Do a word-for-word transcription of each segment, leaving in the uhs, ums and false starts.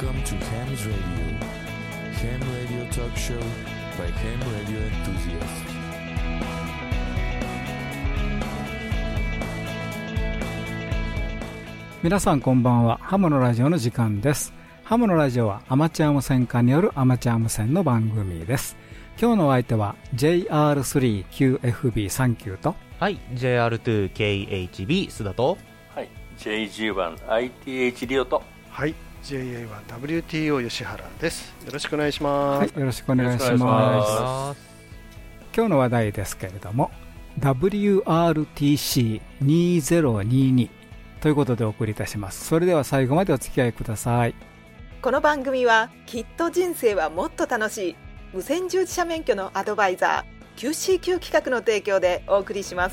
Welcome to Ham's Radio. Ham Radio Talk Show by Ham Radio Enthusiasts. 皆さんこんばんは。ハムのラジオの時間です。ハムのラジオはアマチュア無線化によるアマチュア無線の番組です。今日のお相手は ジェイアールスリーキューエフビーさんきゅう と、 はい ジェイアールツーケーエイチビー 須田と、 はい ジェイジーワンアイティーエイチ リオと、 はい ジェイエーワンダブリューティーオー 吉原です。よろしくお願いします。 はい、よろしくお願いします。今日の話題ですけれども ダブリューアールティーシーにせんにじゅうに ということでお送りいたします。それでは最後までお付き合いください。 この番組はきっと人生はもっと楽しい無線従事者免許のアドバイザー キューシーキュー 企画の提供でお送りします。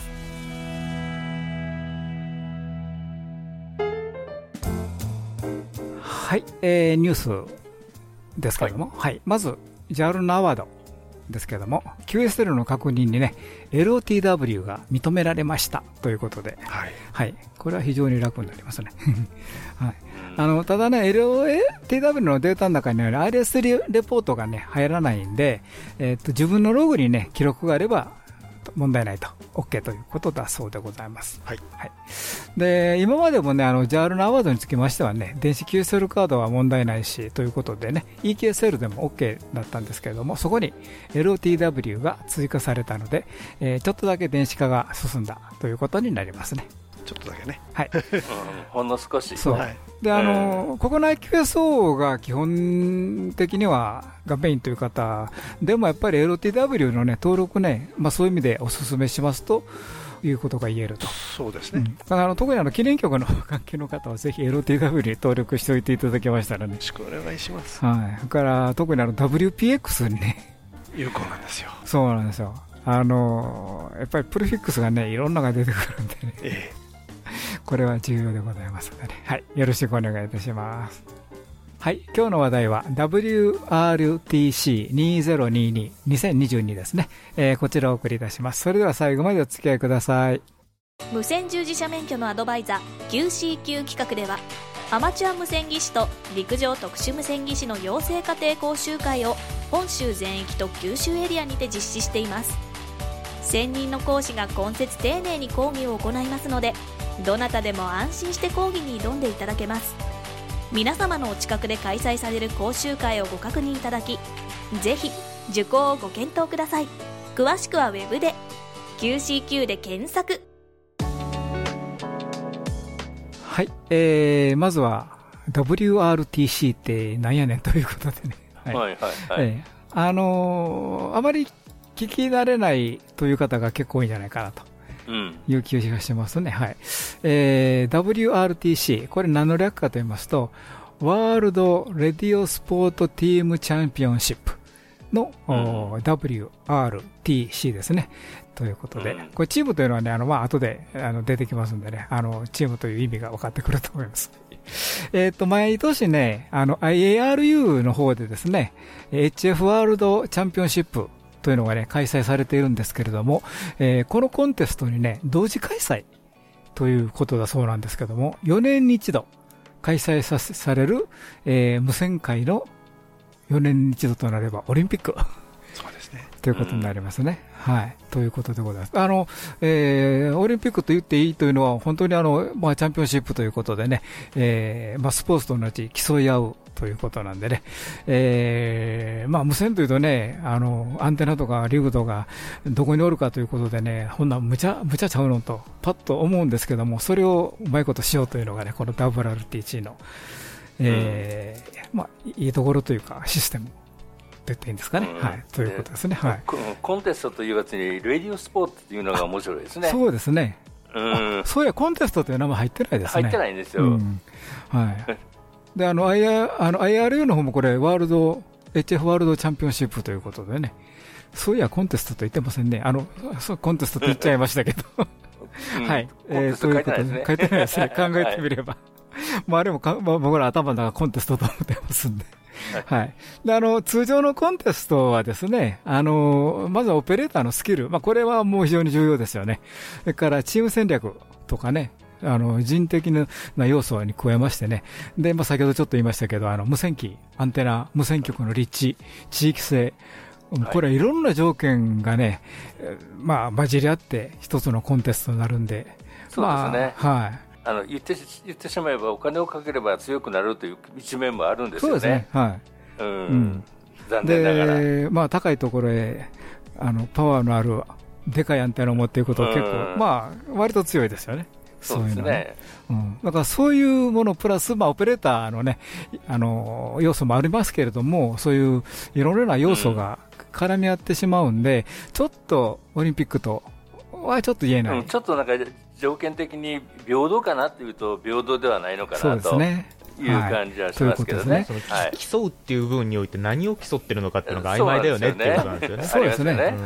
はい、えー、ニュースですけれども、はいはい、まず ジャル のアワードですけれども キューエスエル の確認にね エルオーティーダブリュー が認められましたということで、はいはい、これは非常に楽になりますね、はい、あのただね エルオーティーダブリュー のデータの中にある アールエス レポートがね入らないんで、えー、と自分のログにね記録があれば問題ないと OK ということだそうでございます、はいはい、で今までもねあの ジャル のアワードにつきましてはね電子 キューエスエル カードは問題ないしということでね イーキューエスエル でも OK だったんですけれども、そこに エルオーティーダブリュー が追加されたので、えー、ちょっとだけ電子化が進んだということになりますね。 ちょっとだけね、 はいうん、ほんの少しそう、はい、であの、えー、国内 キューエスオー が基本的にはがメインという方でもやっぱり エルオーティーダブリュー の、ね、登録ね、まあ、そういう意味でお勧めしますということが言えると。そうですね、うん、だからあの特にあの記念局の関係の方はぜひ エルオーティーダブリュー に登録しておいていただけましたらね、よろしくお願いします、 はい、それから特にあの ダブリューピーエックス にね有効なんですよ。 そうなんですよ。あのやっぱりプレフィックスがねいろんなのが出てくるんでね、ええこれは重要でございますので、ねはい、よろしくお願いいたします。はい、今日の話題は ダブリューアールティーシーにせんにじゅうに にせんにじゅうにですね、えー、こちらをお送りいたします。それでは最後までお付き合いください。 無線従事者免許のアドバイザー キューシーキュー 企画ではアマチュア無線技師と陸上特殊無線技師の養成家庭講習会を本州全域と九州エリアにて実施しています。専任の講師が今節丁寧に講義を行いますので、どなたでも安心して講義に挑んでいただけます。皆様のお近くで開催される講習会をご確認いただき、ぜひ受講をご検討ください。詳しくはウェブで キューシーキュー で検索。 はい、えー、まずは ダブリューアールティーシー ってなんやねんということでね、はいはいはいはいえー、あのー、あまり聞き慣れないという方が結構多いんじゃないかなという気がしますね、はいえー、ダブリューアールティーシー これ何の略かと言いますとワールドレディオスポートティームチャンピオンシップの、うん、ダブリューアールティーシー ですねということで、うん、これチームというのはねあの、まあ後であの出てきますんでね、あのチームという意味が分かってくると思いますえっと毎年ねあの アイエーアールユー の方でですね エイチエフ ワールドチャンピオンシップというのがね開催されているんですけれども、えー、このコンテストにね同時開催ということだそうなんですけども、よねんに一度開催させされる、えー、無線界のよねんに一度となればオリンピックそうですねということになりますね、うん、はいということでございます。あの、えー、オリンピックと言っていいというのは本当にあの、まあ、チャンピオンシップということでね、えーまあ、スポーツと同じ競い合うということなんでね、えーまあ、無線というとねあのアンテナとかリグとかどこにおるかということでねほんなむちゃむちゃちゃうのとパッと思うんですけども、それをうまいことしようというのがねこの ダブリューアールティーシー の、えーうんまあ、いいところというかシステムと言っていいんですかね、うんはい、ということですね、はい、 コンテストというやつにレディオスポーツというのが面白いですね。 そうですね、 うん、 そういやコンテストという名前入ってないですね。 入ってないんですよ、 うんはいであの アイアールユー の方もこれワールド エイチエフ ワールドチャンピオンシップということでね、そういやコンテストと言ってませんね。あのそうコンテストと言っちゃいましたけど、うん、はい、えー、そういうことで書いてないですね。考えてみれば、はい、まあでもか、まあ、僕ら頭の中コンテストと思ってますんで。はい、であの通常のコンテストはですね、あのまずはオペレーターのスキル、まあ、これはもう非常に重要ですよね。それからチーム戦略とかね、 あの人的な要素に加えましてね、で、まあ、先ほどちょっと言いましたけど、あの無線機、アンテナ、無線局の立地、地域性、これはいろんな条件がね、まあ、混じり合って一つのコンテストになるんで、 そうですね、 まあ、はい、 あの言って言ってしまえばお金をかければ強くなるという一面もあるんですよね。 そうですね、はい、 うんうん、残念ながらで、まあ、高いところへあのパワーのあるでかいアンテナを持っていくことは結構、うん、まあ、割と強いですよね。 そうですね、 うん、だからそういうものプラス、まあ、オペレーターの、ね、あの要素もありますけれども、そういういろいろな要素が絡み合ってしまうんで、うん、ちょっとオリンピックとはちょっと言えない、 うん、ちょっとなんか条件的に平等かなっていうと平等ではないのかなと。そうですね、いう感じはしますけどね。 競うっていう部分において何を競ってるのかっていうのが曖昧だよねっていうことなんですよね。 そうですね。はい。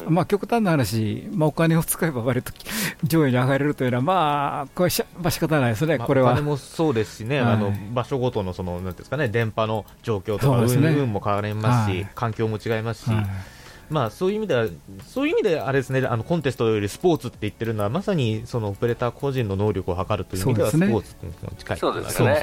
まあ極端な話、まあお金を使えば割と上位に上がれるというのはまあこれしまあ仕方ないですね。これは。お金もそうですしね。あの場所ごとのそのなんですかね、電波の状況とか運も変わりますし、環境も違いますし。まあ、そういう意味では、そういう意味であれですね、あのコンテストよりスポーツって言ってるのはまさにそのオペレーター個人の能力を測るという意味ではスポーツに近い。 そうですね。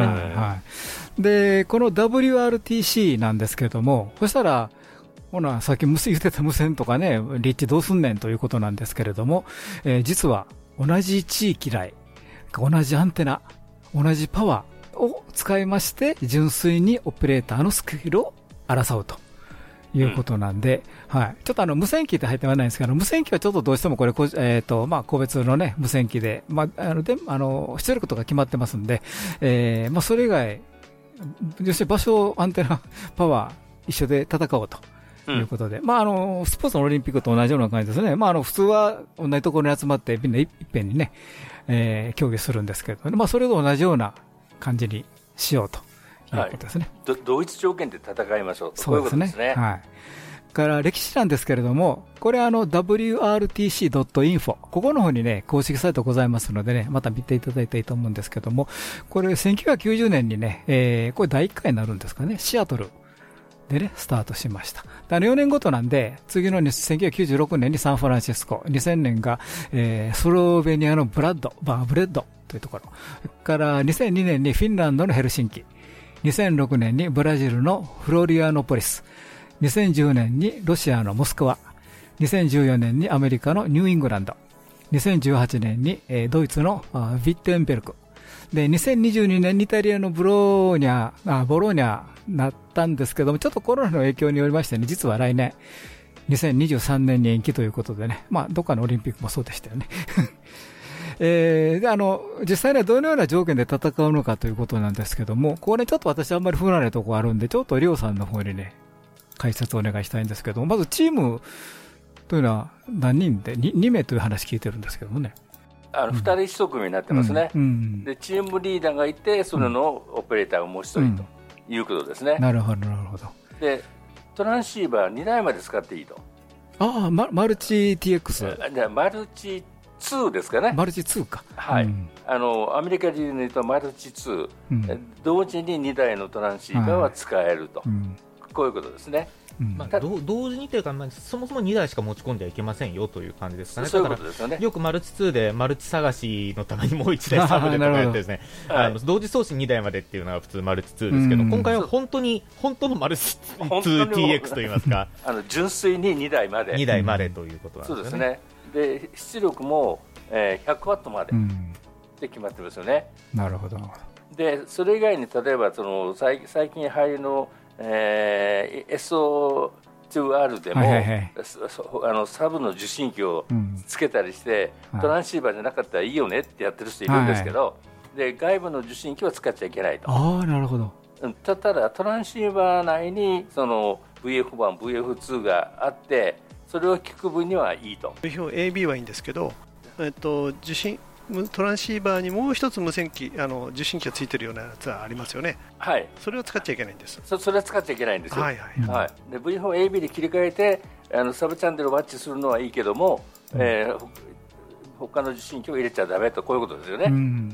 で、この ダブリューアールティーシー なんですけれども、そしたらほなさっき言ってた無線とかね、立地どうすんねんということなんですけれども、えー、実は同じ地域内、同じアンテナ、同じパワーを使いまして純粋にオペレーターのスキルを争うということなんで、うん、はい、ちょっとあの無線機って入ってはないんですけど、無線機はちょっとどうしてもこれ、えーとまあ、個別の、ね、無線機で、まあ、あのであの出力とか決まってますんで、えーまあ、それ以外、要するに場所、アンテナ、パワー、一緒で戦おうということで、うん、まあ、あのスポーツのオリンピックと同じような感じですね、まあ、あの普通は同じところに集まって、みんないっぺんにね、えー、競技するんですけど、まあ、それと同じような感じにしようと。はい、 同一条件で戦いましょうと。そうですね。そういうことですね。はい。 から歴史なんですけれども、これあの ダブリューアールティーシードットインフォ ここの方にね公式サイトございますのでね、また見ていただいたらいいと思うんですけども、これせんきゅうひゃくきゅうじゅうねんにね、えー、これだいいっかいになるんですかね、シアトルでねスタートしました。あのよねんごとなんで、次のせんきゅうひゃくきゅうじゅうろくねんにサンフランシスコ、にせんねんが、えー、スロベニアのブラッドバーブレッドというところ、それからにせんにねんにフィンランドのヘルシンキ、にせんろくねんにブラジルのフロリアノポリス、にせんじゅうねんにロシアのモスクワ、にせんじゅうよねんにアメリカのニューイングランド、にせんじゅうはちねんにドイツのヴィッテンベルクで、にせんにじゅうにねんにイタリアのブローニャあボローニャなったんですけども、ちょっとコロナの影響によりましてね、実は来年にせんにじゅうさんねんに延期ということでね、まあどっかのオリンピックもそうでしたよね。えー、であの実際にはどのような条件で戦うのかということなんですけども、これちょっと私あんまり不慣れなところあるんで、ちょっとリオさんの方にね解説をお願いしたいんですけども、まずチームというのは何人で 2, に名という話聞いてるんですけどもね、 あのふたりひと組になってますね、うんうん、でチームリーダーがいて、それのオペレーターがもうひとりということですね、 うん、なるほどなるほど。 でトランシーバーにだいまで使っていいと。 ああ、ま、マルチ ティーエックスマルチツーですかね。 マルチツーか、 はい、うん、あのアメリカ人で言うとマルチツー、うん、同時ににだいのトランシーバーは使えると、はい、うん、こういうことですね、 うん、まあ、同時にというか、まあ、そもそもにだいしか持ち込んではいけませんよという感じですかね。 そういうことですよね。 よくマルチツーでマルチ探しのためにもういちだいサブでとかやってですね、あの同時送信にだいまでっていうのが普通マルチツーですけど、うん、今回は本当に本当のマルチツー ティーエックス といいますかあの純粋ににだいまでにだいまでということなんですね。 そうですね。で出力もえー、ひゃくワットまでって決まってますよね、 うん、なるほど。 でそれ以外に例えばその 最, 最近入りの、えー、エスオーツーアール でも、はいはいはい、あのサブの受信機をつけたりして、うん、トランシーバーじゃなかったらいいよねってやってる人いるんですけど、はいはい、で外部の受信機は使っちゃいけないと。 ああ、なるほど。 ただトランシーバー内にその ブイエフワン、ブイエフツー があって、それを聞く分にはいいと。 エービー はいいんですけど、えっと、受信トランシーバーにもう一つ無線機、あの受信機がついてるようなやつはありますよね。 はい、 それは使っちゃいけないんです。 そ, それは使っちゃいけないんですよ。 はいはいはい、 で ブイエフワン、エービー で切り替えてあのサブチャンネルをワッチするのはいいけども、うん、えー、他の受信機を入れちゃダメと、こういうことですよね、うん、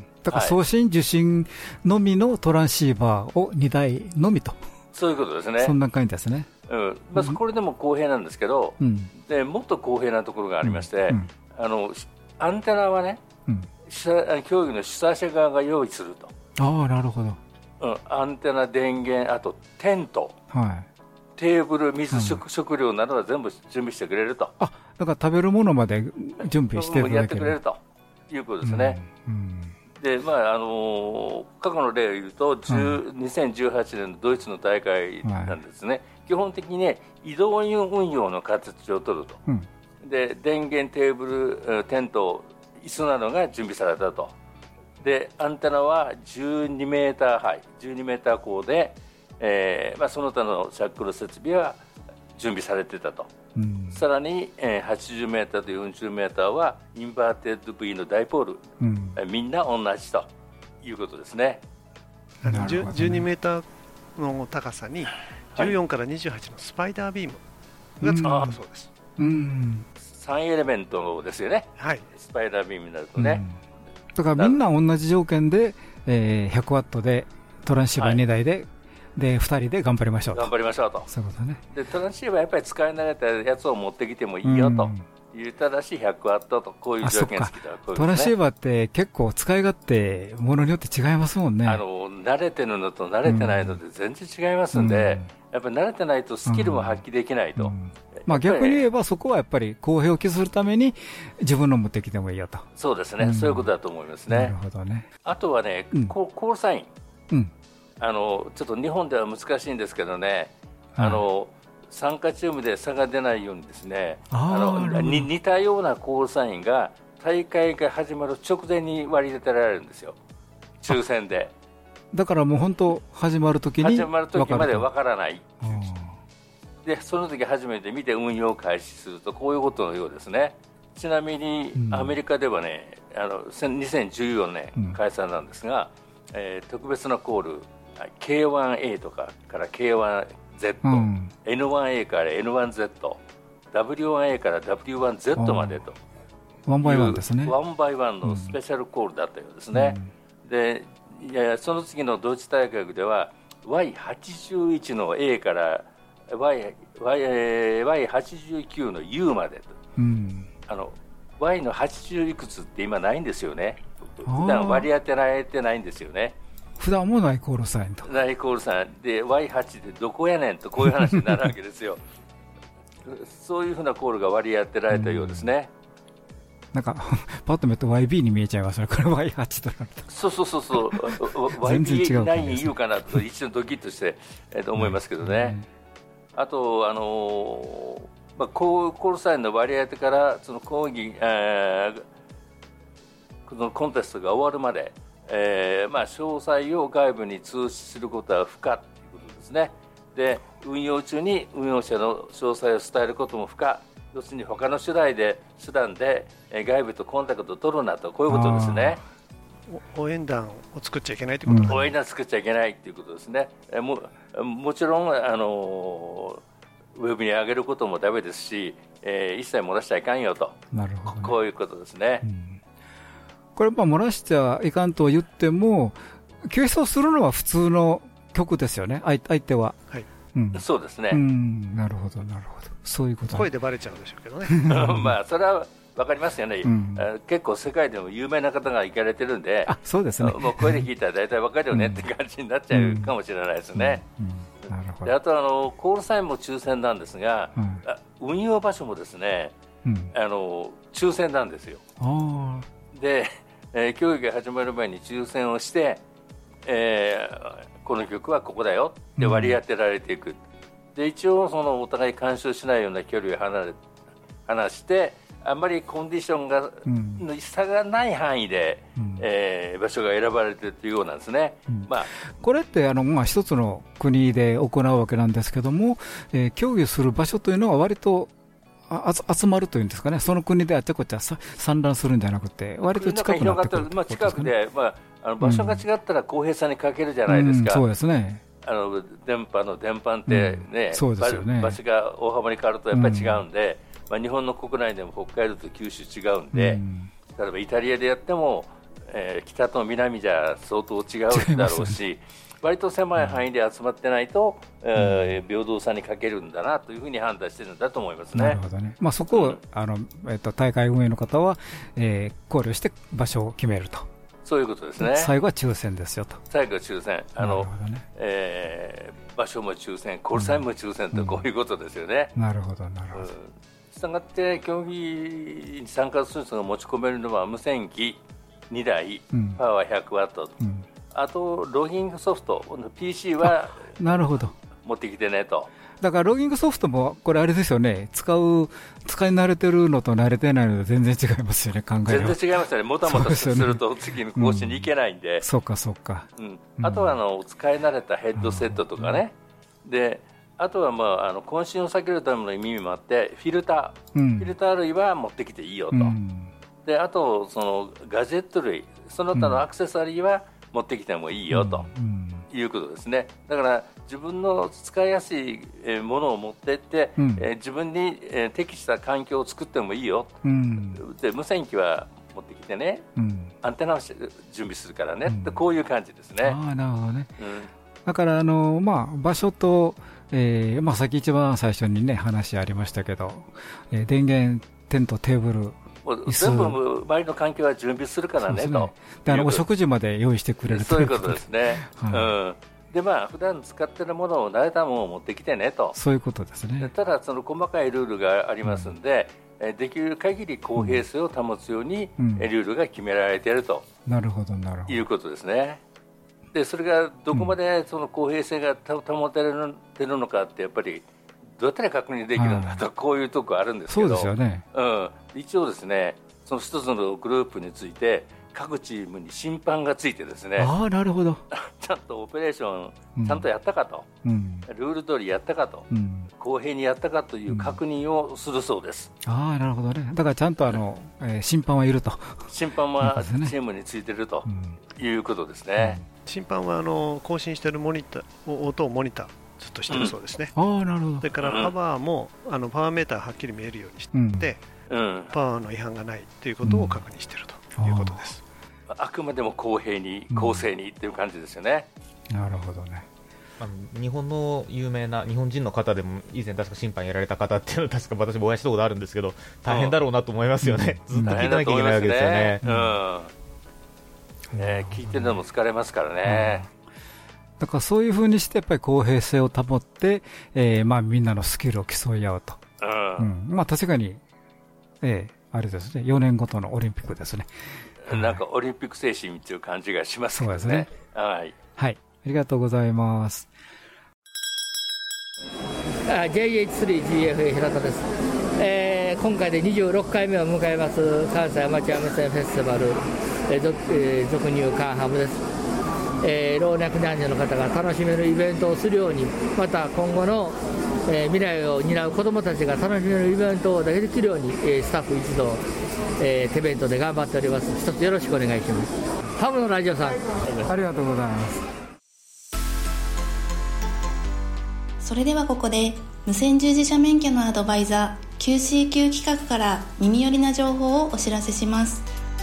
だから送信、はい、受信のみのトランシーバーをにだいのみと、 そういうことですね。 そんな感じですね、 うん、まあ、これでも公平なんですけど、うん、でもっと公平なところがありまして、うんうん、あのアンテナはね、うん、 競技の主催者側が用意すると。 ああ、なるほど。 うん、アンテナ、電源、あとテント、はい、テーブル、水、食、うん、食料などは全部準備してくれると。 あ、だから食べるものまで準備していただける、 やってくれるということですね。うんうんでまああのー、過去の例を言うと、うん、にせんじゅうはちねんのドイツの大会なんですね、はい、基本的に、ね、移動運用の形を取ると、うん、で電源、テーブル、テント、椅子などが準備されたと。でアンテナはじゅうにメーターハイ、じゅうにメーター高で、えーまあ、その他のシャックル設備は準備されていたと、うん、さらに、えー、はちじゅうメーターとよんじゅうメーターはインバーテッド V のダイポール、うんえー、みんな同じということですね。 じゅうにメーターの高さにじゅうよんからにじゅうはちのスパイダービームが使われたそうです、 うんうん、さんエレメントですよね、はい、スパイダービームになるとね、 うん、だからみんな同じ条件で、えー、ひゃくワットでトランシーバーにだいで、はいでふたりで頑張りましょうと。 頑張りましょうと。 そういうことね。 でトランシーバーやっぱり使い慣れたやつを持ってきてもいいよという、ただしひゃくワットとこういう条件付きだ、ね、 トランシーバーって結構使い勝手ものによって違いますもんね。 あの慣れてるのと慣れてないので全然違いますんで、うん、やっぱり慣れてないとスキルも発揮できないと、うんうんまあ、逆に言えばそこはやっぱり公平を期するために自分の持ってきてもいいよと。 そうですね、うん、そういうことだと思いますね。 なるほどね。 あとはね、うん、コールサイン、うんあのちょっと日本では難しいんですけどね、はい、あの酸化チームで差が出ないようにですね、あのに似たようなコールサインが大会が始まる直前に割り当てられるんですよ、抽選で。 だからもう本当始まるときに始まる時までわからない。でその時初めて見て運用を開始するとこういうことのようですね。ちなみにアメリカではね、うん、あのにせんじゅうよねん開催なんですが、うんえー、特別なコールケーワンエー とかから ケーワンゼット、うん、エヌワンエー から エヌワンゼット、ダブリューワンエー から ダブリューワンゼット までとワンバイワンですね。 ワンバイワンのスペシャルコールだったようですね、うん、でいやその次のドイツ大会では ワイはちじゅういち の A から ワイはちじゅうきゅう の U までと、うん、あの Y のはちじゅういくつって今ないんですよね。普段割り当てられてないんですよね。 普段もないコールサインとないコールサインで ワイはち でどこやねんとこういう話になるわけですよそういうふうなコールが割り当てられたようですね。 なんかパッと見ると ワイビー に見えちゃいますね。これ ワイはち となるとそうそうそうそうワイビーナイン 言うかなと一瞬ドキッとして、えー、と思いますけどね、うん、あと、あのーまあ、コールサインの割り当てからその講義、えー、このコンテストが終わるまでえーまあ、詳細を外部に通知することは不可ということですね。で運用中に運用者の詳細を伝えることも不可、要するに他の手段で手段で外部とコンタクトを取るなと、こういうことですね。 応援団を作っちゃいけないということですね。 応援団を作っちゃいけないということですね。えももちろんあのウェブに上げることもダメですし、えー、一切漏らしちゃいかんよと。 なるほどね、 こういうことですね。うんこれ、漏らしちゃいかんと言っても、継承するのは普通の曲ですよね、相手は。 はいうん、そうですね、 うん。なるほど、なるほど。そういうこと、ね、 声でバレちゃうんでしょうけどね。 まあ、それは分かりますよね、うん、結構世界でも有名な方が行かれてるんで、 あそうですね、 もう声で聞いたら大体分かるよねって感じになっちゃうかもしれないですね。であとあの、コールサインも抽選なんですが、うん、運用場所もですね、うん、あの抽選なんですよ。あでえー、競技が始まる前に抽選をして、えー、この曲はここだよって割り当てられていく、うん、で一応そのお互い干渉しないような距離を離れ離してあんまりコンディションが、うん、の差がない範囲で、うんえー、場所が選ばれているというようなんですね、うんまあ、 これってあの、まあ、一つの国で行うわけなんですけども、えー、競技する場所というのは割とあ集まるというんですかね、その国であちゃこちゃ散乱するんじゃなくて、割と近くなってくるってことですかね。 近くで、まあ、あの場所が違ったら公平さに欠けるじゃないですか、 うんうん、そうですね。 あの電波の伝播ってね、うん、そうですよね、場所が大幅に変わるとやっぱり違うんで、うんまあ、日本の国内でも北海道と九州違うんで、うん、例えばイタリアでやっても、えー、北と南じゃ相当違うだろうし、 割と狭い範囲で集まってないと、うんえー、平等さに欠けるんだなというふうに判断しているんだと思いますね。 なるほどね。まあ、そこを、うんあのえー、と大会運営の方は、えー、考慮して場所を決めると。 そういうことですね。 最後は抽選ですよと。 最後は抽選。あの、ねえー、場所も抽選、コールサインも抽選と、こういうことですよね。 うん、なるほど、なるほど。 したがって、競技に参加する人が持ち込めるのは無線機にだい、うん、パワーひゃくワット、うん、あとロギングソフト ピーシー はなるほど持ってきてねと。 だからロギングソフトもこれあれですよね、使う使い慣れてるのと慣れてないのと全然違いますよね、考えは全然違いますよね。もたもたすると次の更新に行けないんで、 うん、そうかそうか、 うん、あとはあの使い慣れたヘッドセットとかね、うん、であとは、まあ、あの渾身を避けるための意味もあってフィルター、うん、フィルター類は持ってきていいよと、うん、であとそのガジェット類その他のアクセサリーは持ってきてもいいよと、うんうん、いうことですね。だから自分の使いやすいものを持っていって、うんえー、自分に適した環境を作ってもいいよ、うん、で無線機は持ってきてね、うん、アンテナを準備するからね、うん、こういう感じですね。 あ、なるほどね、うん、だからあの、まあ、場所と、えーまあ、さっき一番最初にね話ありましたけど、えー、電源テントテーブル全部周りの環境は準備するからねと、ね、 であのお食事まで用意してくれるそういうことですね、はいうんでまあ普段使っているものを慣れたものを持ってきてねと。 そういうことですね。 ただその細かいルールがありますので、うん、できる限り公平性を保つように、うん、ルールが決められていると、 なるほどなるほどいうことですね。でそれがどこまでその公平性が保てるのかってやっぱりどうやったら確認できるんだと、はい、こういうところあるんですけど、 そうですよね、 うん、一応ですねその一つのグループについて各チームに審判がついてですね、 あ、なるほどちゃんとオペレーションちゃんとやったかと、うん、ルール通りやったかと、うん、公平にやったかという確認をするそうです、 うん、ああなるほどね。だからちゃんとあの、えー、審判はいると。 審判はチームについているということですね、うん、 審判はあの更新しているモニター音をモニターずっとしてるそうですね、 うん、あなるほど。 それからパワーも、うん、あのパワーメーターはっきり見えるようにして、うん、パワーの違反がないということを確認しているということです、 うん、あくまでも公平に公正にという感じですよね、 うん、なるほどね。 あの日本の有名な日本人の方でも以前確か審判やられた方っていうのは確か私もお会いしたことあるんですけど大変だろうなと思いますよね、うん、ずっと聞いてなきゃいけないわけですよね、うんうんね、聞いてるのも疲れますからね、 うん、だからそういうふうにしてやっぱり公平性を保って、えーまあ、みんなのスキルを競い合うと、うんうんまあ、確かに、えー、あれですねよねんごとのオリンピックですね。 なんかオリンピック精神という感じがしますけどね。そうですね、はい、 はい、ありがとうございます。 ジェイエイチスリージーエフエー 平田です、えー、今回でにじゅうろっかいめを迎えます関西アマチュア無線フェスティバル、えー俗えー、俗入カンハムです、えー、老若男女の方が楽しめるイベントをするように、また今後の、えー、未来を担う子どもたちが楽しめるイベントをできるように、えー、スタッフ一同、えー、手弁当で頑張っております。一つよろしくお願いします。ハムのラジオさんありがとうございます。 それではここで無線従事者免許のアドバイザー キューシーキュー 企画から耳寄りな情報をお知らせします。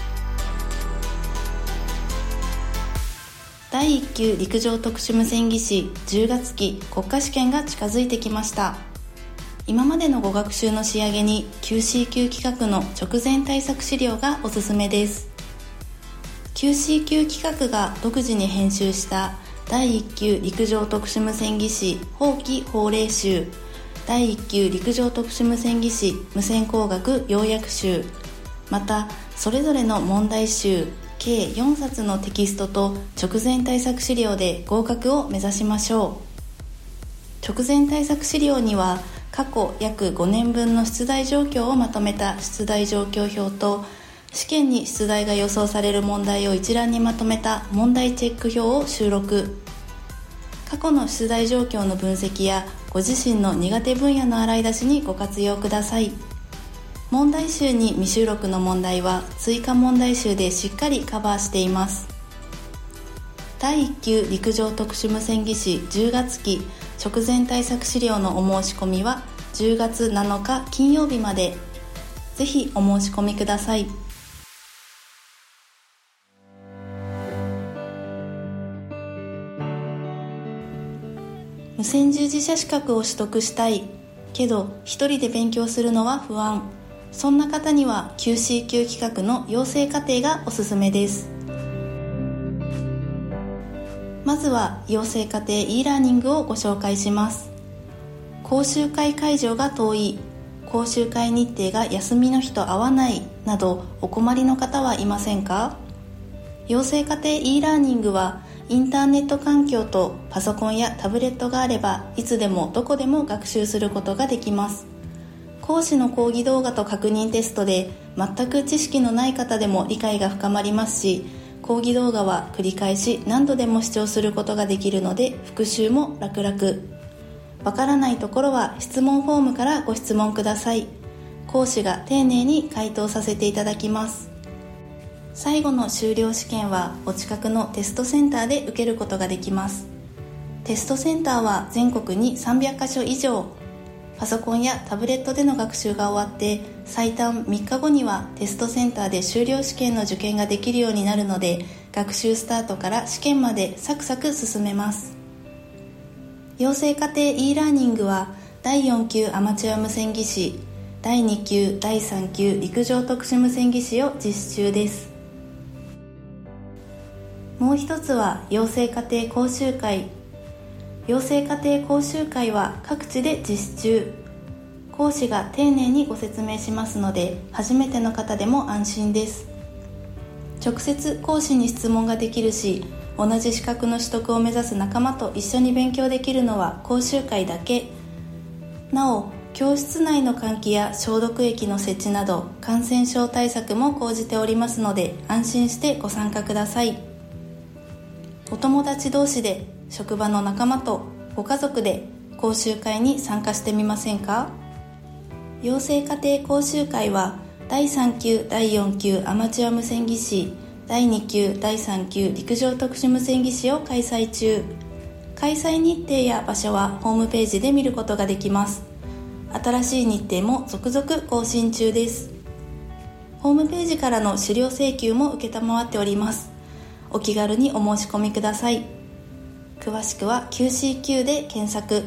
だいいっ級陸上特殊無線技師じゅうがつ期国家試験が近づいてきました。今までのご学習の仕上げに キューシーキュー 企画の直前対策資料がおすすめです。 キューシーキュー 企画が独自に編集しただいいっ級陸上特殊無線技師法規法令集、だいいっ級陸上特殊無線技師無線工学要約集、またそれぞれの問題集計よんさつのテキストと直前対策資料で合格を目指しましょう。直前対策資料には過去約ごねんぶんの出題状況をまとめた出題状況表と、試験に出題が予想される問題を一覧にまとめた問題チェック表を収録。過去の出題状況の分析やご自身の苦手分野の洗い出しにご活用ください。問題集に未収録の問題は追加問題集でしっかりカバーしています。だいいっ級陸上特殊無線技師じゅうがつ期直前対策資料のお申し込みはじゅうがつなのか金曜日まで。ぜひお申し込みください。 無線従事者資格を取得したいけど一人で勉強するのは不安、そんな方には キューシー 級企画の養成課程がおすすめです。まずは養成課程 e ラーニングをご紹介します。講習会会場が遠い、講習会日程が休みの日と合わないなどお困りの方はいませんか？養成課程 e ラーニングはインターネット環境とパソコンやタブレットがあればいつでもどこでも学習することができます。講師の講義動画と確認テストで全く知識のない方でも理解が深まりますし、講義動画は繰り返し何度でも視聴することができるので復習も楽々。わからないところは質問フォームからご質問ください。講師が丁寧に回答させていただきます。最後の修了試験はお近くのテストセンターで受けることができます。テストセンターは全国にさんびゃっかしょ以上。パソコンやタブレットでの学習が終わって最短みっかごにはテストセンターで修了試験の受験ができるようになるので、学習スタートから試験までサクサク進めます。養成課程 e ラーニングはだいよん級アマチュア無線技師、だいに級だいさん級陸上特殊無線技師を実施中です。もう一つは養成課程講習会。養成課程講習会は各地で実施中。講師が丁寧にご説明しますので初めての方でも安心です。直接講師に質問ができるし、同じ資格の取得を目指す仲間と一緒に勉強できるのは講習会だけ。なお、教室内の換気や消毒液の設置など感染症対策も講じておりますので安心してご参加ください。お友達同士で、職場の仲間とご家族で講習会に参加してみませんか？養成課程講習会はだいさん級だいよん級アマチュア無線技師、だいに級だいさん級陸上特殊無線技師を開催中。開催日程や場所はホームページで見ることができます。新しい日程も続々更新中です。ホームページからの資料請求も承っております。お気軽にお申し込みください。詳しくは キューシーキュー で検索。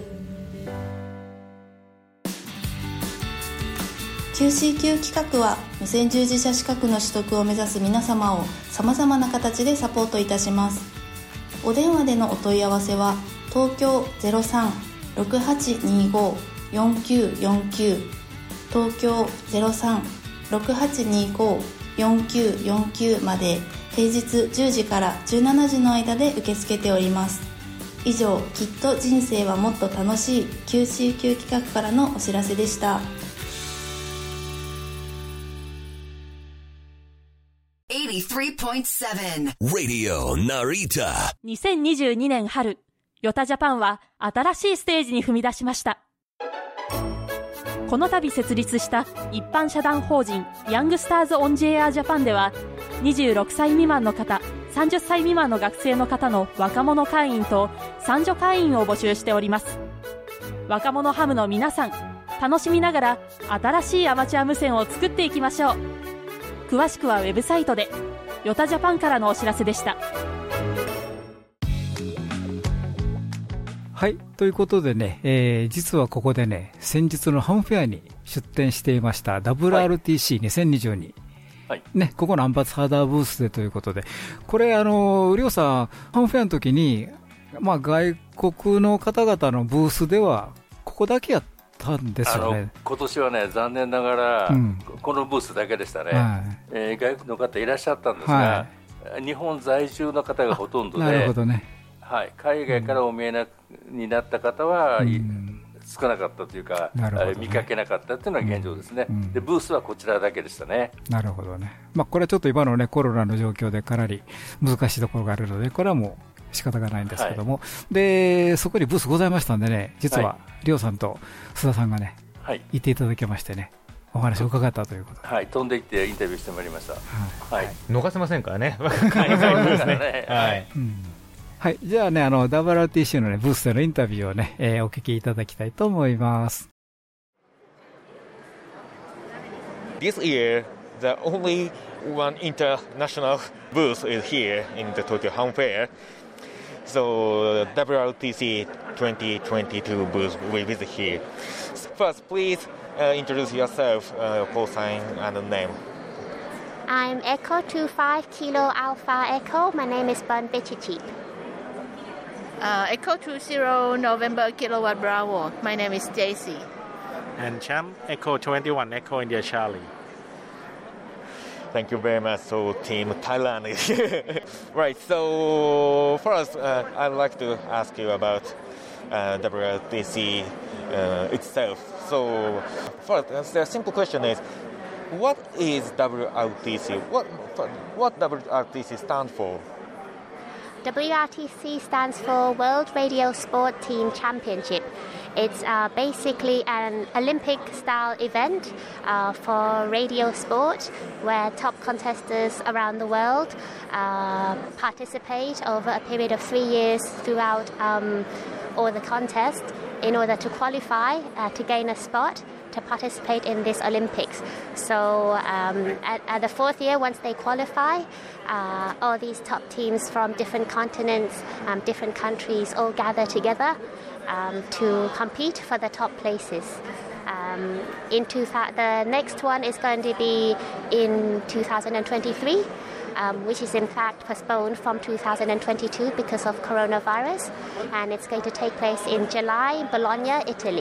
キューシーキュー 企画は無線従事者資格の取得を目指す皆様をさまざまな形でサポートいたします。お電話でのお問い合わせは東京 ゼロさん ろくはちにご よんきゅうよんきゅう、 東京 ゼロさん ろくはちにご よんきゅうよんきゅうまで平日じゅうじからじゅうしちじの間で受け付けております。以上、きっと人生はもっと楽しい キューシーキュー 企画からのお知らせでした。 Radio Narita。 にせんにじゅうにねん春、ヨタジャパンは新しいステージに踏み出しました。この度設立した一般社団法人ヤングスターズ・オン・ジェア・ジャパンでは、にじゅうろくさい未満の方、さんじゅっさい未満の学生の方の若者会員と三女会員を募集しております。若者ハムの皆さん、楽しみながら新しいアマチュア無線を作っていきましょう。詳しくはウェブサイトで。ヨタジャパンからのお知らせでした。 はい、ということでね、えー、実はここでね、先日のハムフェアに出展していました ダブリューアールティーシーにせんにじゅうに、はいね、ここのアンバサダーブースでということで、これ、あのりょうさん、ハムフェアの時に、まあ、外国の方々のブースでは、ここだけやったんですよね。 今年はね、残念ながら、うん、このブースだけでしたね、はいえー、外国の方いらっしゃったんですが、はい、日本在住の方がほとんどで、 なるほどね、 はい、海外からお見えな、うん、になった方は、うん、少なかったというか、ね、見かけなかったというのが現状ですね、うん、でブースはこちらだけでしたね。 なるほどね、まあ、これはちょっと今の、ね、コロナの状況でかなり難しいところがあるので、これはもう仕方がないんですけども、はい、でそこにブースございましたんでね、実はりょうさんと須田さんがね、はい、いていただけましてね、お話を伺ったということで、 はい、飛んでいってインタビューしてまいりました、はいはい、 逃せませんからね、海外ブースね、はいうんはい、じゃあね、あの ダブリューアールティーシー の、ね、ブースでのインタビューをね、えー、お聞きいただきたいと思います。 This year, the only one international booth is here in the Tokyo Ham Fair. So W R T C twenty twenty-two booth we visit here. First, please uh, introduce yourself, uh, call sign and name. I'm Echo two five Kilo Alpha Echo. My name is Bun Bechichi. Uh, Echo two zero November Kilowatt Bravo. My name is J C. And Champ Echo twenty-one Echo India Charlie. Thank you very much. So Team Thailand is here. Right. So first, uh, I'd like to ask you about uh, W R T C uh, itself. So first, uh, the simple question is, what is W R T C? What what W R T C stand for? W R T C stands for World Radio Sport Team Championship. It's uh, basically an Olympic-style event uh, for radio sport where top contestants around the world uh, participate over a period of three years throughout um, all the contests in order to qualify uh, to gain a spot to participate in this Olympics. So um, at, at the fourth year, once they qualify, uh, all these top teams from different continents, um, different countries all gather together um, to compete for the top places. Um, in two th- the next one is going to be in two thousand twenty-three, um, which is in fact postponed from two thousand twenty-two because of coronavirus, and it's going to take place in July, Bologna, Italy.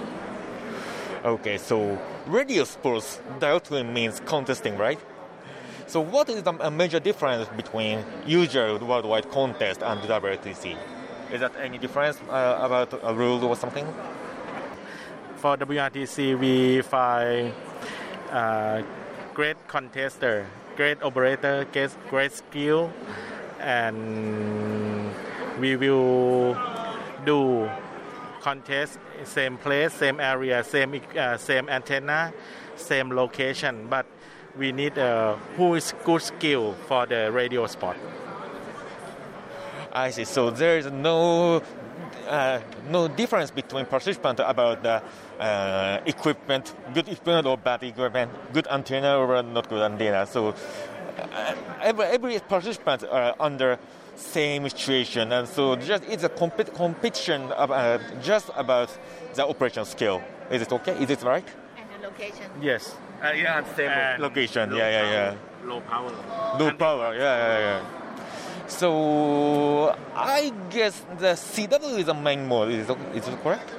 Okay, so radio sports directly means contesting, right? So what is the a major difference between usual worldwide contest and W R T C? Is that any difference uh, about a rule or something? For W R T C, we find uh, great contester, great operator, great, great skill, and we will do contest same place, same area, same uh, same antenna, same location, but we need uh, who is good skill for the radio sport. I see. So there is no uh, no difference between participants about the uh, equipment, good equipment or bad equipment, good antenna or not good antenna. So uh, every, every participant are under same situation, and so just it's a compet- competition of, uh, just about the operation skill. Is it okay? Is it right? And the location. Yes. Uh, yeah, same and location. Yeah, yeah, yeah. Low power. Low power. Yeah, yeah, yeah. So I guess the C W is the main mode. Is it, is it correct?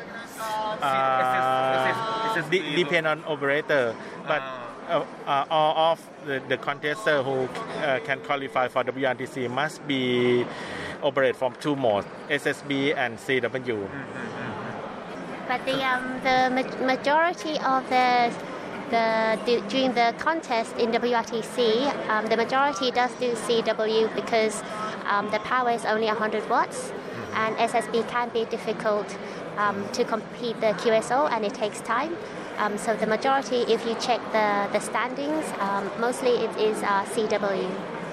Uh, it d- depend on operator, but uh, uh, all of the, the contestants who uh, can qualify for W R T C must be operate from two modes, S S B and C W. But the um, the ma- majority of the The, the, during the contest in W R T C, um, the majority does do C W because um, the power is only one hundred watts, and S S B can be difficult um, to complete the Q S O, and it takes time. Um, so the majority, if you check the, the standings, um, mostly it is uh, C W.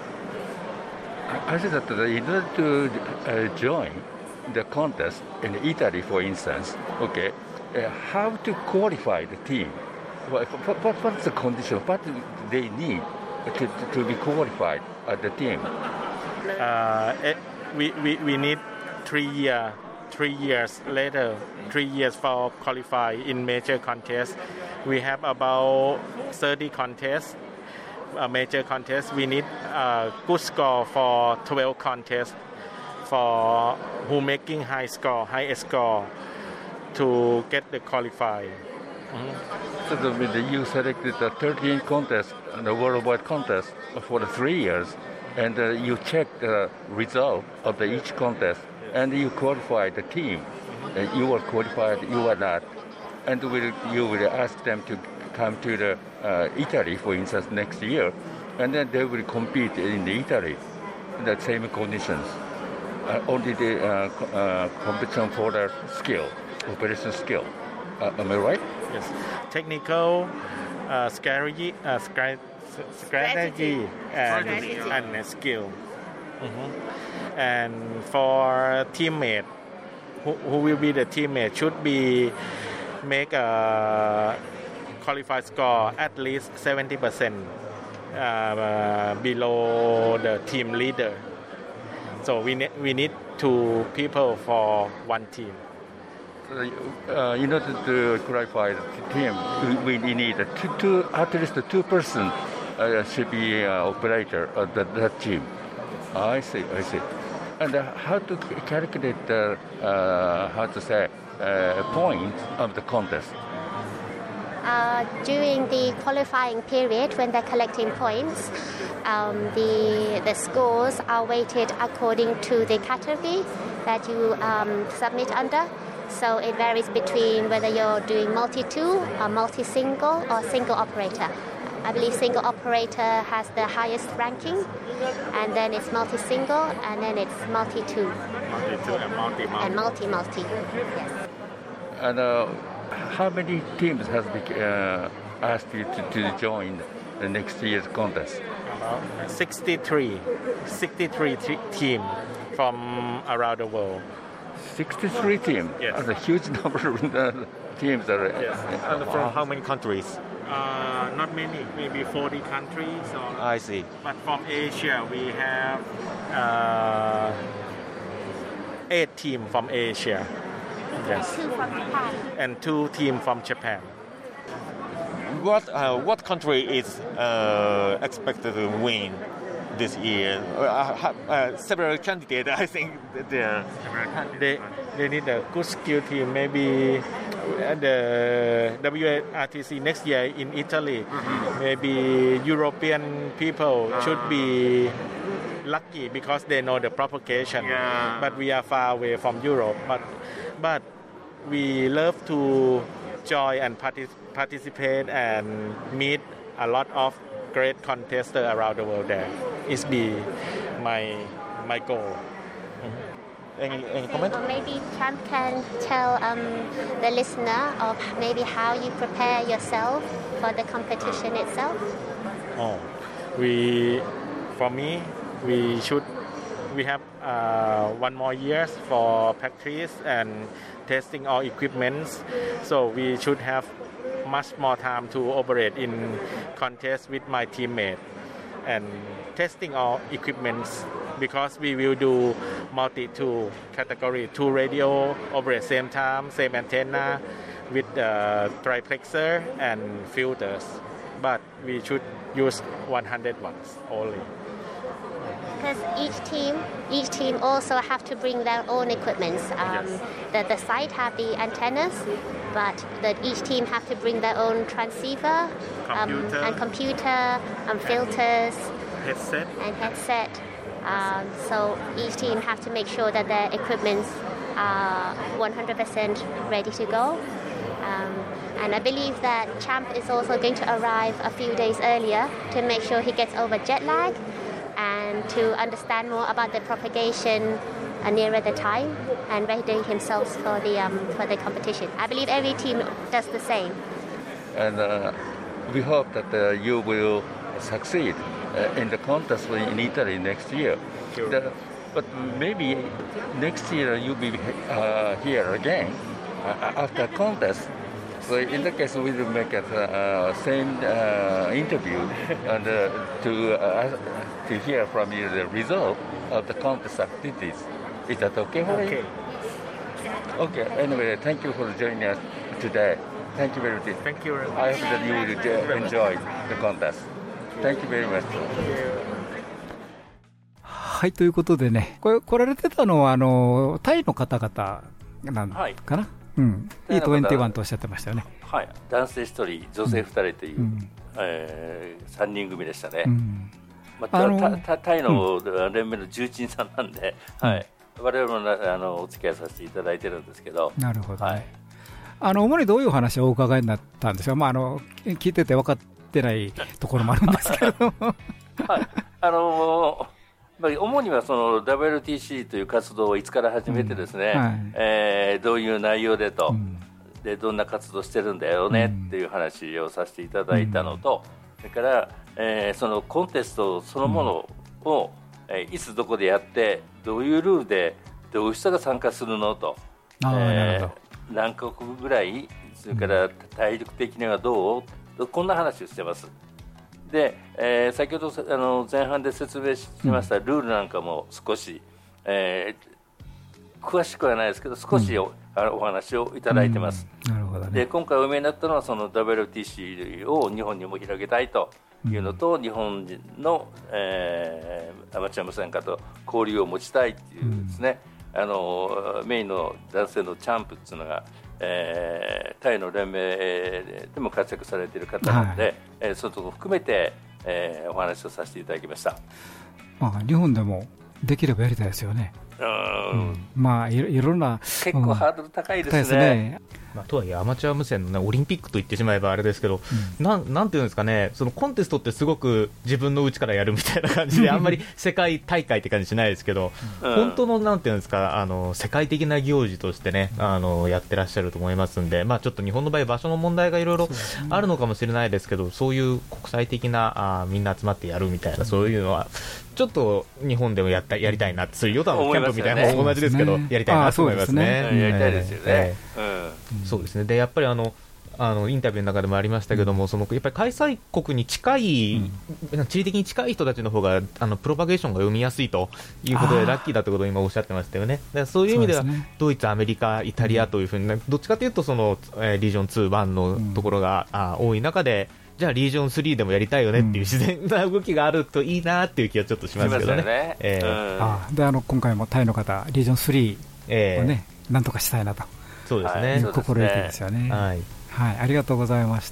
I think that in order to uh, join the contest in Italy, for instance, okay, uh, how to qualify the team? What, what, what's the condition? What do they need to, to, to be qualified as the team? Uh, it, we, we, we need three year, three years later, three years for qualify in major contests. We have about thirty contests, a major contests. We need a good score for twelve contests for who making high score, high score to get the qualify. Mm-hmm. So the, you selected the thirteen contests, the worldwide contest for the three years, and uh, you check the result of the each contest, and you qualify the team. Uh, you are qualified, you are not, and will, you will ask them to come to the uh, Italy, for instance, next year, and then they will compete in the Italy in the same conditions. Uh, only the uh, co- uh, competition for the skill, operation skill. Uh, am I right? Yes. Technical, uh, strategy, uh, strategy, strategy, and, strategy. and skill. Mm-hmm. And for teammate, who, who will be the teammate should be make a qualified score at least seventy percent uh, below the team leader. So we ne- we need two people for one team. Uh, in order to qualify the team, we, we need a two, two, at least two person uh, should be uh, operator of the, that team. I see, I see. And uh, how to calculate the, uh, how to say, uh, points of the contest? Uh, during the qualifying period, when they're collecting points, um, the the scores are weighted according to the category that you um, submit under. So it varies between whether you're doing multi-tool or multi-single or single operator. I believe single operator has the highest ranking, and then it's multi-single, and then it's multi-tool. Multi-tool and multi-multi. And multi-multi, yes. And uh, how many teams has been uh, asked you to, to join the next year's contest? About sixty-three, sixty-three t- teams from around the world. sixty-three teams? Yes. That's a huge number of teams. Are, yes. And from wow. how many countries? Uh, not many, maybe forty countries. Or, I see. But from Asia, we have uh, eight teams from Asia. Yes. Two from Japan. And two teams from Japan. What uh, what country is uh, expected to win this year? Uh, uh, several candidates, I think. There. They they need a good skill team. Maybe the W R T C next year in Italy. Mm-hmm. Maybe European people uh. should be lucky because they know the propagation. Yeah. But we are far away from Europe. But but we love to join and partic- participate and meet a lot of great contestants around the world. There is be my my goal. Mm-hmm. Any any comment? Or maybe Champ can tell um, the listener of maybe how you prepare yourself for the competition itself. Oh, we for me we should we have uh, one more years for practice and testing all equipments. So we should have much more time to operate in contest with my teammate and testing all equipments because we will do multi-tool category, two radio operate same time, same antenna with uh, triplexer and filters. But we should use one hundred watts only. Because each team, each team also have to bring their own equipment. Um, yes. the, the site have the antennas, but the, each team have to bring their own transceiver computer. Um, and computer and filters, headset, and headset. Um, so each team have to make sure that their equipments are one hundred percent ready to go. Um, and I believe that Champ is also going to arrive a few days earlier to make sure he gets over jet lag and to understand more about the propagation uh, nearer the time and ready himself for the um, for the competition. I believe every team does the same. And uh, we hope that uh, you will succeed uh, in the contest in Italy next year. Sure. The, but maybe next year you'll be uh, here again uh, after contest. So in that case, we will make a uh, same uh, interview and uh, to uh, to hear from you the result of the contest activities. Is that okay for okay. you? Okay. Anyway, thank you for joining us today. Thank you very much. Thank you very much. I hope that you will enjoy the contest. Thank you very much. はい、ということでね、これ来られてたのはあのタイの方々なんかな。はいうん、イートにじゅういちとおっしゃってましたよね。 はい、男性ひとり、女性ふたりという、うんえー、さんにん組でしたね。うんまあ、あのたたタイの連盟の重鎮さんなんで、うんはい、我々もあのお付き合いさせていただいてるんですけど。 なるほど、ねはい、あの主にどういうお話をお伺いになったんですか、まあ、あの聞いてて分かってないところもあるんですけれども。 はいあのー主にはその ダブリューティーシー という活動をいつから始めてですね、うんはいえー、どういう内容でと、うん、でどんな活動してるんだよねっていう話をさせていただいたのと、うん、それから、えー、そのコンテストそのものを、うんえー、いつどこでやってどういうルールでどういう人が参加するのと、えー、何カ国ぐらいそれから体力的にはどうこんな話をしてます。でえー、先ほどあの前半で説明しましたルールなんかも少し、 えー、詳しくはないですけど少し お,、うん、お話をいただいてます、 うん、なるほどね、 で今回お見えになったのはその ダブリューティーシー を日本にも広げたいというのと、うん、日本人の、えー、アマチュア無線化と交流を持ちたいというですね、うん、あのメインの男性のチャンプっていうのが、えー、タイの連盟でも活躍されている方なので、はい、えー、そういうところを含めて、えー、お話をさせていただきました。 まあ、日本でもできればやりたいですよね。 うん、 うん、まあいろ、いろんな結構ハードル高いですね。 ですね、 まあ、とはいえアマチュア無線の、ね、オリンピックと言ってしまえばあれですけど、うん、なんなんていうんですかね、そのコンテストってすごく自分のうちからやるみたいな感じであんまり世界大会って感じしないですけど、うん、本当のなんていうんですか、あの世界的な行事としてね、あのやってらっしゃると思いますんで、まあ、ちょっと日本の場合場所の問題がいろいろあるのかもしれないですけど、そういう国際的なあみんな集まってやるみたいな、そういうのはちょっと日本でもやったやりたいな、そういうヨタのキャンプみたいなのも同じですけど、やりたいなと思いますね。 やりたいですよね。 そうですね。でやっぱりあのあのインタビューの中でもありましたけども、うん、そのやっぱり開催国に近い、うん、地理的に近い人たちの方があのプロパゲーションが読みやすいということでラッキーだということを今おっしゃってましたよね。だからそういう意味では、ね、ドイツ、アメリカ、イタリアというふうに、ね、どっちかというとその、えー、リージョンツー、ワンのところが、うん、あ多い中で、じゃあリージョンスリーでもやりたいよねっていう自然な動きがあるといいなっていう気はちょっとしますけどね。 ね、えーうん、あであの今回もタイの方リージョンスリーをね、えー、なんとかしたいなと、 そうですね、 いう心意気ですよね。 はい、 はい、ありがとうございました。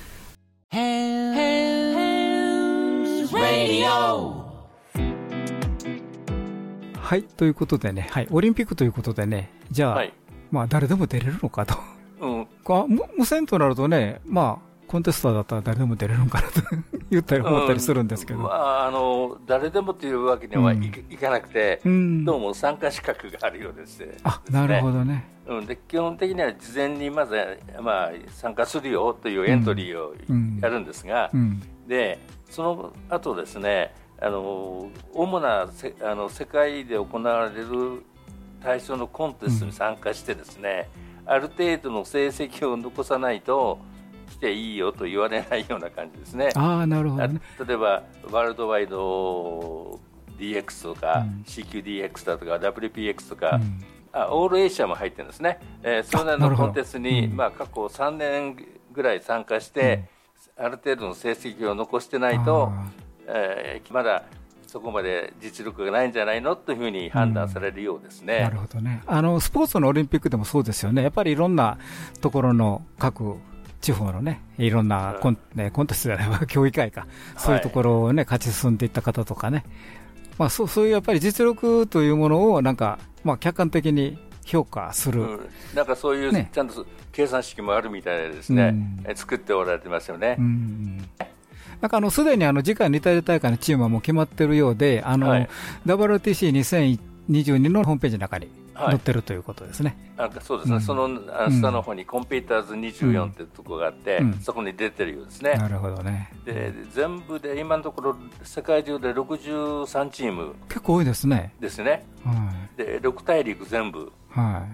はい、ということでね、はい、オリンピックということでね、じゃあ、はい、まあ誰でも出れるのかと、うん、無線となるとね、まあコンテストだったら誰でも出れるのかなと言ったり思ったりするんですけど、 うん、まあ、あの誰でもというわけにはい、うん、いかなくて、うん、どうも参加資格があるようです、ね、 あ、なるほどね、 うん、で基本的には事前にまず、まあ、参加するよというエントリーをやるんですが、うんうん、でその後ですね、あの主なせあの世界で行われる対象のコンテストに参加してですね、うん、ある程度の成績を残さないと来ていいよと言われないような感じですね。 あ、なるほどね。 例えばワールドワイド ディーエックス とか、うん、シーキューディーエックス だとか ダブリューピーエックス とか、うん、あオールエイシアも入ってるんですね。えー、それらのコンテストに、うん、まあ、過去さんねんぐらい参加して、うん、ある程度の成績を残してないと、えー、まだそこまで実力がないんじゃないのというふうに判断されるようですね。 うん、なるほどね。あのスポーツのオリンピックでもそうですよね。やっぱりいろんなところの各地方のね、いろんなコン、うんね、コンテストじゃないわ、競技会か、そういうところをね、はい、勝ち進んでいった方とかね、まあ、そう、そういうやっぱり実力というものをなんか、まあ、客観的に評価する、うん、 なんかそういう、ね、ちゃんと計算式もあるみたいでですね、うん、作っておられてますよね。うん、 なんかあのすでにあの次回のイタリア大会のチームはもう決まっているようで、あの、はい、ダブリューティーシーにせんにじゅうに のホームページの中に載ってるということですね。 はい、あそうですね、うん、その下の方にコンピューターズにじゅうよんというところがあって、うん、そこに出てるようですね。 なるほどね。 で全部で今のところ世界中でろくじゅうさんチーム結構多いですね。 ですね。はい、でろく大陸全部、 はい、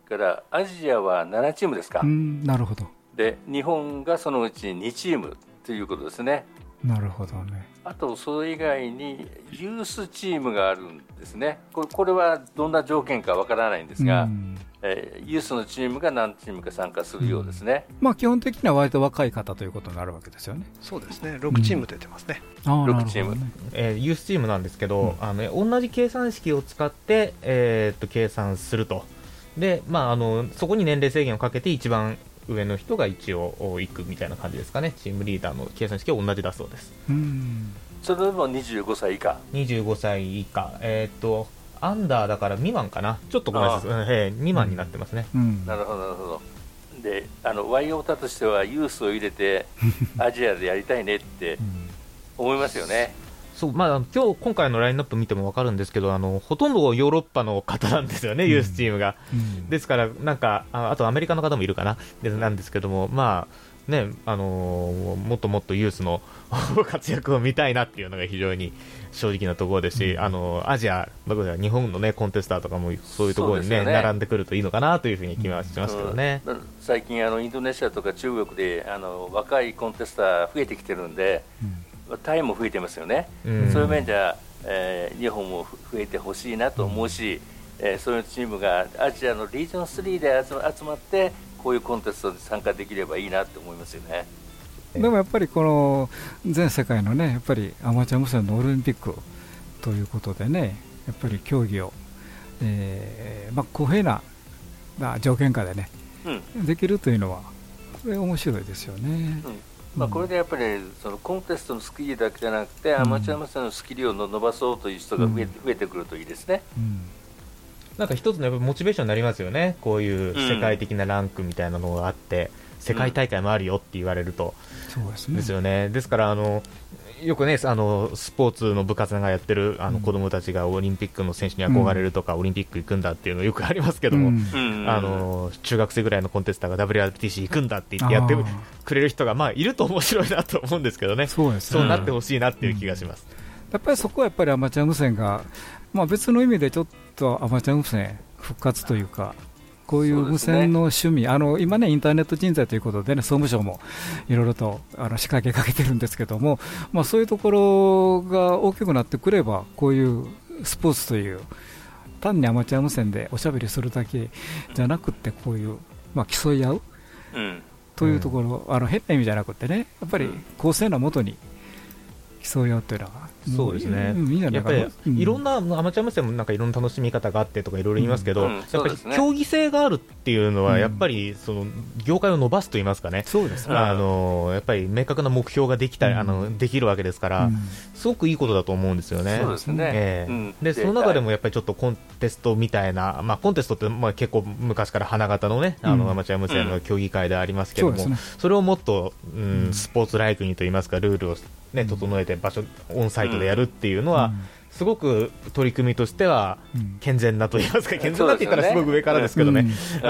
からアジアはななチームですか。 うん、なるほど。 で日本がそのうちにチームということですね。 なるほどね。 あとそれ以外にユースチームがあるんですね。これ、これはどんな条件かわからないんですが、うん、えー、ユースのチームが何チームか参加するようですね。 うん、まあ、基本的には割と若い方ということになるわけですよね。 そうですね、ろくチーム出てますね。 うん、 ろくチーム、 ね、えー、ユースチームなんですけど、うん、あの同じ計算式を使って、えー、っと計算すると。で、まあ、あのそこに年齢制限をかけて一番上の人が一応行くみたいな感じですかね。チームリーダーの計算式は同じだそうです。 うん、 それでもにじゅうごさい以下にじゅうごさい以下、えー、っとアンダーだから未満かな。ちょっとごめんなさい、えー、未満になってますね。 うん、 なるほどなるほど。であのワイオータとしてはユースを入れてアジアでやりたいねって思いますよね。 そう、まあ、今日今回のラインナップ見ても分かるんですけど、あのほとんどヨーロッパの方なんですよね、うん、ユースチームが、うん、ですからなんか あ, あとアメリカの方もいるかなでなんですけども、まあね、あのー、もっともっとユースの活躍を見たいなっていうのが非常に正直なところですし、うん、あのアジア、日本の、ね、コンテスターとかもそういうところに、ねね、並んでくるといいのかなというふうに気はしますけどね。 うん、最近あのインドネシアとか中国であの若いコンテスター増えてきてるんで、うん、タイも増えてますよね。うん、そういう面ではえー、日本も増えてほしいなと思うし、うん、えー、そういうチームがアジアのリージョンスリーで集まってこういうコンテストに参加できればいいなと思いますよね。 でもやっぱりこの全世界のねやっぱりアマチュア無線のオリンピックということでね、やっぱり競技を、えーまあ、公平な条件下でね、うん、できるというのはこれ面白いですよね。 うん、まあ、これでやっぱりそのコンテストのスキルだけじゃなくて、うん、アマチュア無線のスキルを伸ばそうという人が増えて、うん、増えてくるといいですね。うん、 なんか一つのやっぱモチベーションになりますよね。こういう世界的なランクみたいなのがあって、うん、世界大会もあるよって言われると、 うん、そうですね。 ですよね。ですからあのよくね、あのスポーツの部活がやってるあの子供たちがオリンピックの選手に憧れるとか、うん、オリンピック行くんだっていうのよくありますけども、うん、あの中学生ぐらいのコンテスターが ダブリューアールティーシー 行くんだって言ってやってくれる人がまあいると面白いなと思うんですけどね。そうですね。そうなってほしいなっていう気がします。 うん、やっぱりそこはやっぱりアマチュア無線が、まあ、別の意味でちょっとアマチュア無線復活というか、こういう無線の趣味、ね、あの今ねインターネット人材ということでね、総務省もいろいろとあの仕掛けかけてるんですけども、まあ、そういうところが大きくなってくれば、こういうスポーツという単にアマチュア無線でおしゃべりするだけじゃなくて、こういう、まあ、競い合う、うん、というところ、あの変な意味じゃなくてね、やっぱり公正なもとに競い合うというのは、 そうですね、うん、いいやっぱりいろんな、うん、アマチュア無線もなんかいろんな楽しみ方があってとかいろいろ言いますけど、うんうん、やっぱり競技性があるっていうのはやっぱりその業界を伸ばすと言いますかね、 そうですね、 あのやっぱり明確な目標ができたり、うん、あのできるわけですから、うん、すごくいいことだと思うんですよね。 そうですね、 えーうん、でその中でもやっぱりちょっとコンテストみたいな、まあ、コンテストってまあ結構昔から花形のね、あのアマチュア無線の競技会でありますけども、うん、そ, ね、それをもっと、うん、スポーツライクにと言いますか、ルールをね、整えて場所オンサイトでやるっていうのは、うん、すごく取り組みとしては健全なと言いますか、うん、健全なって言ったらすごく上からですけどね、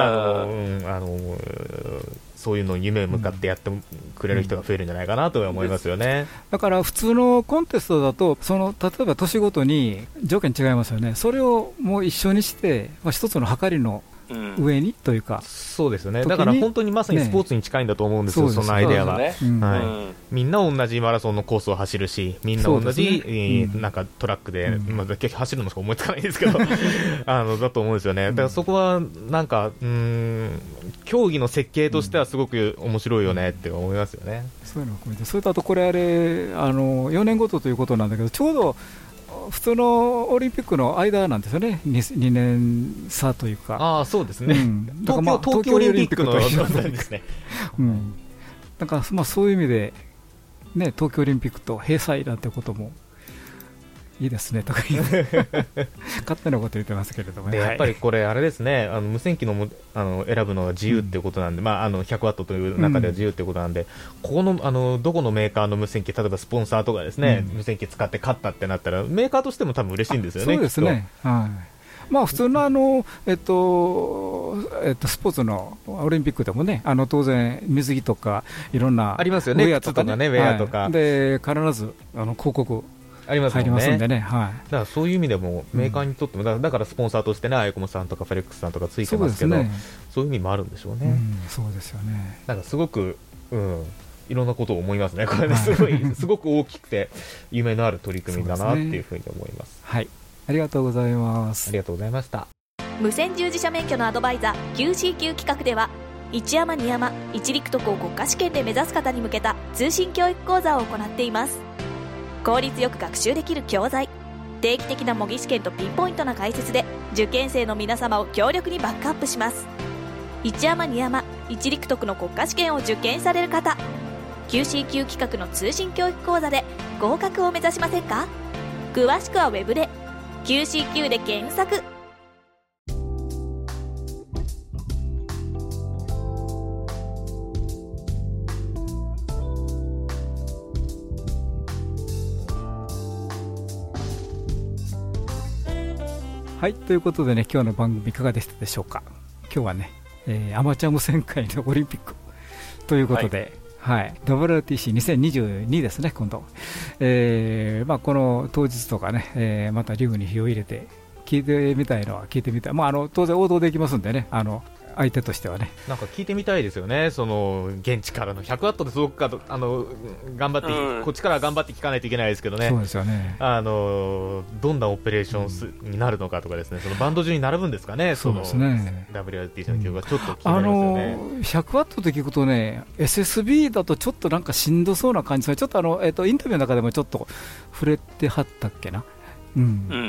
そういうのを夢を向かってやってくれる人が増えるんじゃないかなと思いますよね。 だから普通のコンテストだとその例えば年ごとに条件違いますよね。それをもう一緒にして、まあ、一つの計りの上にというか、うん、 そうですね。だから本当にまさにスポーツに近いんだと思うんですよ、ね、そのアイデアは、ね、うんはいうん、みんな同じマラソンのコースを走るし、みんな同じ、ねえーうん、なんかトラックで、うんまあ、走るのしか思いつかないんですけどあのだと思うんですよね。だからそこはなんかうーん競技の設計としてはすごく面白いよねって思いますよね、 うん、そういうのを込めて、それとあとこれあれあのよねんごとということなんだけど、ちょうど普通のオリンピックの間なんですよね、 2, にねん差というか。 ああそうですね、うん、東京、東京オリンピックのなんですね、 うん、なんかまあそういう意味で、ね、東京オリンピックと閉鎖なんてこともいいですねとか言って勝手なこと言ってますけれども、ね、 でやっぱりこれあれですね、あの無線機のもあの選ぶのは自由っていうことなんで、うんまあ、あのひゃくワットという中では自由っていうことなんで、うん、ここの、あのどこのメーカーの無線機、例えばスポンサーとかですね、うん、無線機使って勝ったってなったらメーカーとしても多分嬉しいんですよね。 そうですね、はいまあ、普通のあの、えっとえっと、スポーツのオリンピックでもね、あの当然水着とかいろんなありますよね、ウェアとかね、ウェアとか、 はい、で必ずあの広告ありますもんね。 入りますんでね、はい、 だからそういう意味でもメーカーにとっても、うん、だからスポンサーとしてね、アイコムさんとかフェレックスさんとかついてますけど、そうですね、そういう意味もあるんでしょうね、 うん、そうですよね。 なんかすごく、うん、いろんなことを思いますね、これね、すごいすごく大きくて夢のある取り組みだなっていうふうに思います。 はい、ありがとうございます。 ありがとうございました。 無線従事者免許のアドバイザー キューシーキュー 企画では、一山二山一陸徳を国家試験で目指す方に向けた通信教育講座を行っています。効率よく学習できる教材、定期的な模擬試験とピンポイントな解説で受験生の皆様を強力にバックアップします。一山二山一陸徳の国家試験を受験される方、 キューシーキュー 企画の通信教育講座で合格を目指しませんか？詳しくはウェブで キューシーキュー で検索。 はい、ということでね、今日の番組いかがでしたでしょうか。今日はね、えー、アマチュア無線界のオリンピックということで、はいはい、ダブリューアールティーシーにせんにじゅうに ですね、今度、えーまあ、この当日とかね、えー、またリグに火を入れて聞いてみたいのは聞いてみたい、まあ、あの当然応答できますんでね、あの相手としてはね。 なんか聞いてみたいですよね、その現地からのひゃくワットで届くかと、あの頑張って、うん、こっちから頑張って聞かないといけないですけどね。 そうですよね。 あのどんなオペレーションス、うん、になるのかとかですね、そのバンド中に並ぶんですかね、 そうですね。 ダブリューアールティーシー の曲がちょっと気になりますよね。 あのひゃくワットと聞くとね、エスエスビー だとちょっとなんかしんどそうな感じですね。ちょっとあの、えー、とインタビューの中でもちょっと触れてはったっけな、うん、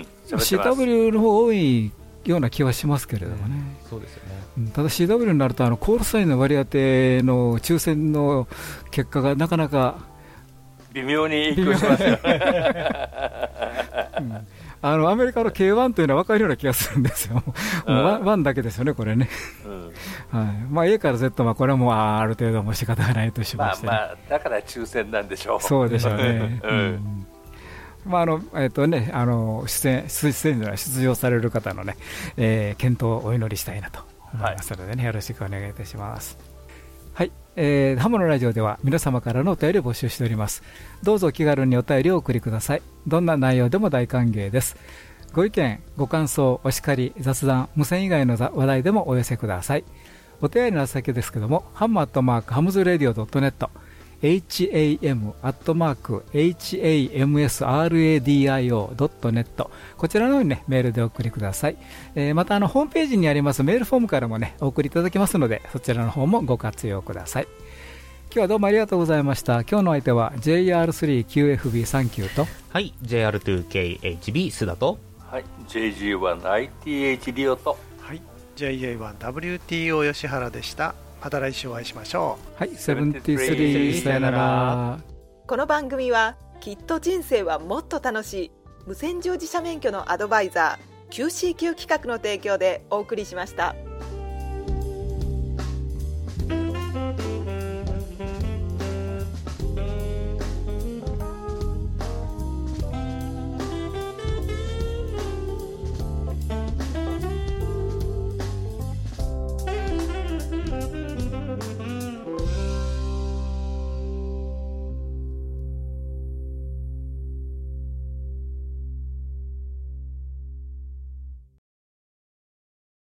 うん、シーダブリュー の方多いような気はしますけれどもね、 うん、そうですよね。 うん、ただ シーダブリュー になるとあのコールサインの割り当ての抽選の結果がなかなか微妙に影響しますよ、 うん、あのアメリカの ケーワン というのは分かるような気がするんですよ。うん、もうワンだけですよね、これね。うん、はい、まあ、A から Z はこれはもうある程度も仕方がないとしまして、ね、 まあまあ、だから抽選なんでしょう。 そうでしょうね。うんうん、まああのえーとね、あの出演出演出場される方の、ね、えー、健闘をお祈りしたいなと思いますので、ね、はい、よろしくお願いいたします。はい、えー、ハモのラジオでは皆様からのお便りを募集しております。どうぞ気軽にお便りをお送りください。どんな内容でも大歓迎です。ご意見ご感想お叱り雑談無線以外の話題でもお寄せください。お手合いの先ですけども、ハムアットマークハムズラディオドットネット、 ハム アットマーク ハムスラディオ ドットネット、 こちらの方に、ね、メールでお送りください。えー、またあのホームページにありますメールフォームからも、ね、お送りいただけますので、そちらの方もご活用ください。今日はどうもありがとうございました。今日の相手は ジェイアールスリーキューエフビーさんきゅう と、 はい、ジェイアールツーケーエイチビー 須田と、 はい、ジェイジーワンアイティーエイチ リオと、 はい、ジェイエーワンダブリューティーオー 吉原でした。また来週お会いしましょう。はい、セブンティースリー、さよなら。 この番組はきっと人生はもっと楽しい無線乗自社免許のアドバイザー キューシーキュー 企画の提供でお送りしました。